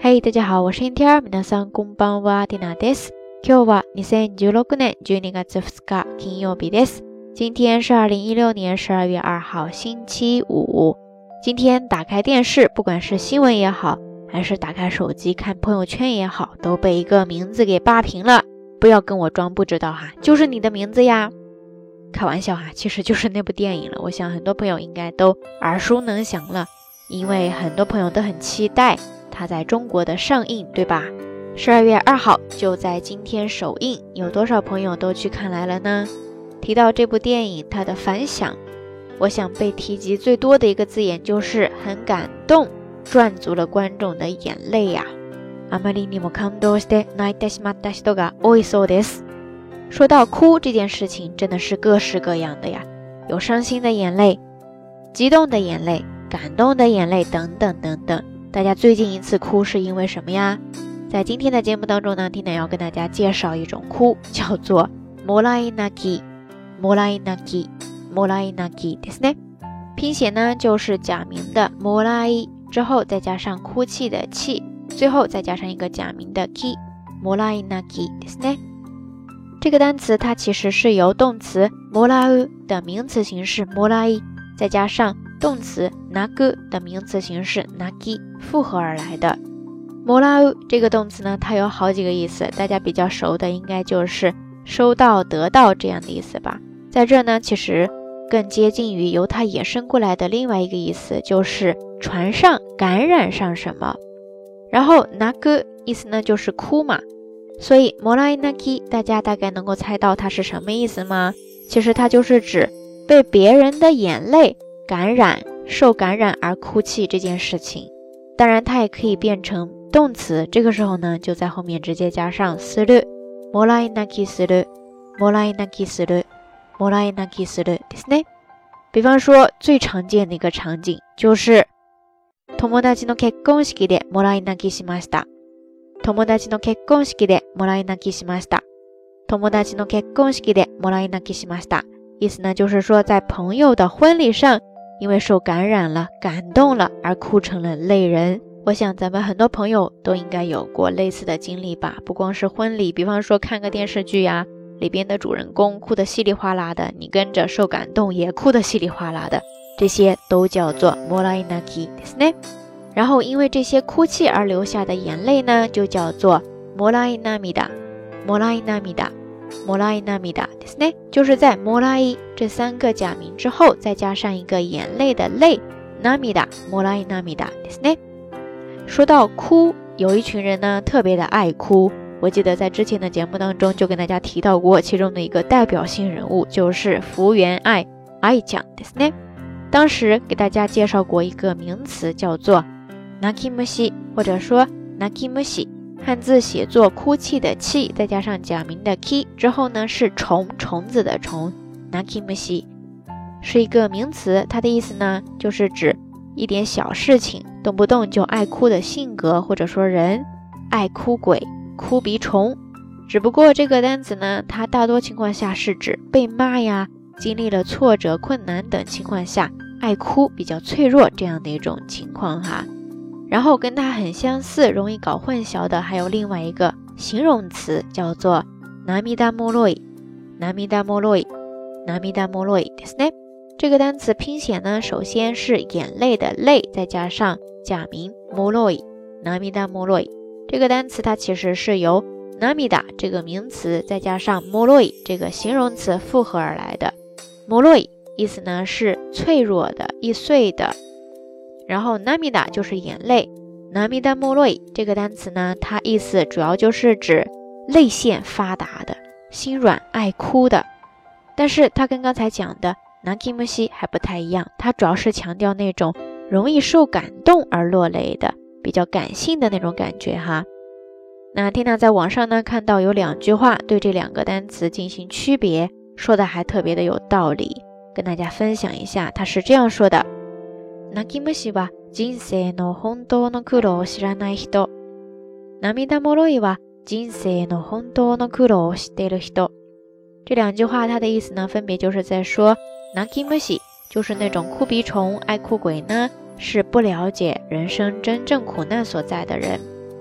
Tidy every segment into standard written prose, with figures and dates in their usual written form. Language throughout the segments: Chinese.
嘿，大家好，我是 Inter， 皆さんこんばんは、ティナです。今日は2016年12月2日金曜日です。今天是2016年12月2号星期五。今天打开电视，不管是新闻也好，还是打开手机看朋友圈也好，都被一个名字给霸屏了。不要跟我装不知道哈，就是你的名字呀。开玩笑哈，其实就是那部电影了。我想很多朋友应该都耳熟能详了，因为很多朋友都很期待它在中国的上映，对吧？12月2号就在今天首映，有多少朋友都去看来了呢？提到这部电影，它的反响，我想被提及最多的一个字眼就是很感动，赚足了观众的眼泪呀。あまりにも感動して泣いてしまった人が多いそうです。说到哭这件事情，真的是各式各样的呀，有伤心的眼泪，激动的眼泪，感动的眼泪等等等等。大家最近一次哭是因为什么呀？在今天的节目当中呢，Tina要跟大家介绍一种哭，叫做もらい泣き。もらい泣きですね。拼写呢就是假名的もらい之後再加上哭泣的泣，最后再加上一个假名的き。もらい泣きですね。这个单词它其实是由动词もらう的名词形式もらい再加上动词泣く的名词形式泣き复合而来的。もらう这个动词呢，它有好几个意思，大家比较熟的应该就是收到、得到这样的意思吧。在这呢，其实更接近于由它衍生过来的另外一个意思，就是传上、感染上什么。然后泣く意思呢就是哭嘛，所以もらい泣き大家大概能够猜到它是什么意思吗？其实它就是指被别人的眼泪感染、受感染而哭泣这件事情。当然它也可以变成动词，这个时候呢就在后面直接加上する。もらい泣きする、もらい泣きする、もらい泣きするですね。比方说最常見的一个场景就是友達の結婚式でもらい泣きしました。友達の結婚式でもらい泣きしました。友達の結婚式でもらい泣きしました。意思呢就是说在朋友的婚礼上因为受感染了、感动了而哭成了泪人。我想咱们很多朋友都应该有过类似的经历吧，不光是婚礼，比方说看个电视剧呀，里边的主人公哭得稀里哗啦的，你跟着受感动也哭得稀里哗啦的，这些都叫做もらい泣きですね。然后因为这些哭泣而流下的眼泪呢，就叫做もらい涙、もらい涙、もらい涙ですね。就是在もらい这三个假名之后再加上一个眼泪的泪，涙、もらい涙ですね。说到哭，有一群人呢特别的爱哭，我记得在之前的节目当中就跟大家提到过，其中的一个代表性人物就是福原爱ちゃんですね。当时给大家介绍过一个名词叫做泣き虫，或者说泣き虫，汉字写作哭泣的泣再加上假名的き之后呢是虫子的虫，泣き虫是一个名词，它的意思呢就是指一点小事情动不动就爱哭的性格，或者说人，爱哭鬼、哭鼻虫。只不过这个单词呢，它大多情况下是指被骂呀，经历了挫折、困难等情况下爱哭、比较脆弱这样的一种情况哈。然后跟它很相似、容易搞混淆的还有另外一个形容词叫做涙もろい、涙もろい、涙もろいですね。这个单词拼写呢，首先是眼泪的泪，再加上假名もろい、涙もろい。这个单词它其实是由涙这个名词再加上もろい这个形容词复合而来的。もろい意思呢是脆弱的、易碎的，然后涙就是眼泪。涙もろい这个单词呢，它意思主要就是指泪腺发达的、心软爱哭的。但是它跟刚才讲的泣き虫还不太一样，它主要是强调那种容易受感动而落泪的，比较感性的那种感觉哈。那Tina在网上呢看到有2句话对这2个单词进行区别，说的还特别的有道理，跟大家分享一下。他是这样说的：泣き虫は人生の本当の苦労を知らない人、涙もろいは人生の本当の苦労を知っている人。这2句话它的意思呢，分别就是在说泣き虫就是那种哭鼻虫、爱哭鬼呢，是不了解人生真正苦难所在的人。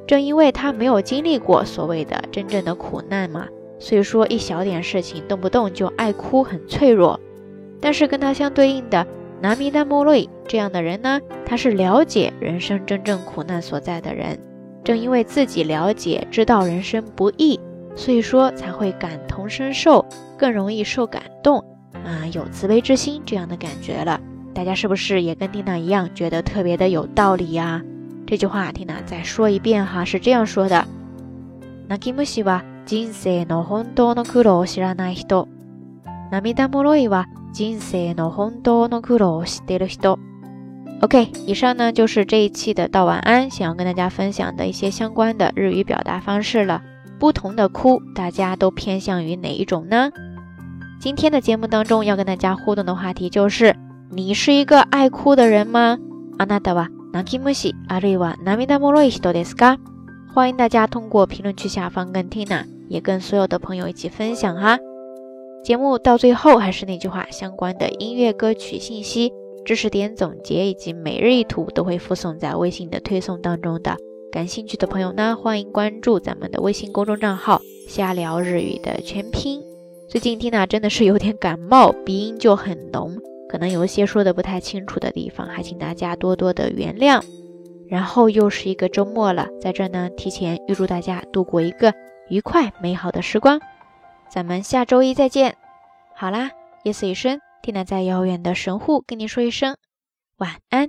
正因为他没有经历过所谓的真正的苦难嘛，所以说一小点事情动不动就爱哭，很脆弱。但是跟他相对应的涙もろい这样的人呢，他是了解人生真正苦难所在的人，正因为自己了解知道人生不易，所以说才会感同身受，更容易受感动有慈悲之心这样的感觉了。大家是不是也跟缇娜一样觉得特别的有道理呀？这句话缇娜再说一遍哈，是这样说的：泣き虫は人生の本当の苦労を知らない人、涙もろいは人生の本当の苦労を知っている人。 OK， 以上呢就是这一期的道晚安想要跟大家分享的一些相关的日语表达方式了。不同的哭，大家都偏向于哪一种呢？今天的节目当中要跟大家互动的话题就是：你是一个爱哭的人吗？あなたは泣き虫あるいは涙もろい人ですか？欢迎大家通过评论区下方跟 Tina 也跟所有的朋友一起分享哈。节目到最后还是那句话，相关的音乐歌曲信息、知识点总结以及每日一图都会附送在微信的推送当中的。感兴趣的朋友呢，欢迎关注咱们的微信公众账号瞎聊日语的全拼。最近 Tina 真的是有点感冒，鼻音就很浓，可能有一些说的不太清楚的地方，还请大家多多的原谅。然后又是一个周末了，在这呢提前预祝大家度过一个愉快美好的时光。咱们下周一再见。好啦，夜色已深，Tina在遥远的神户跟你说一声晚安。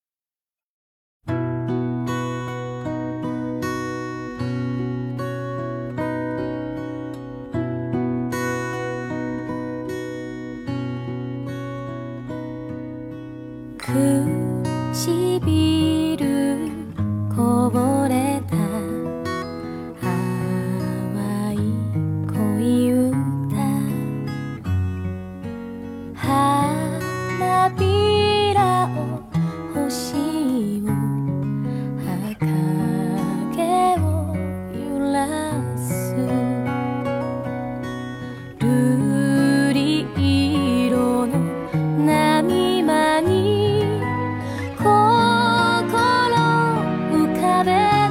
唇こぼれた淡い恋歌、花びらを星を影を揺らす瑠璃色の波間に浮かべ